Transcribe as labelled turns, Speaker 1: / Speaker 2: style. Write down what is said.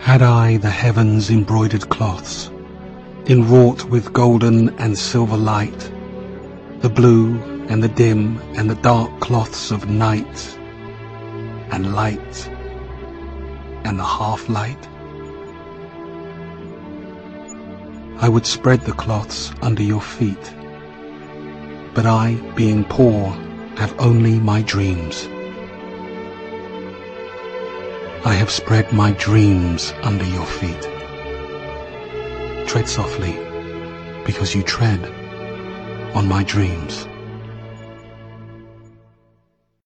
Speaker 1: Had I the heavens' embroidered cloths, enwrought with golden and silver light, the blue and the dim and the dark cloths of night, and light, and the half-light, I would spread the cloths under your feet, but I, being poor, have only my dreams. I have spread my dreams under your feet. Tread softly, because you tread on my dreams.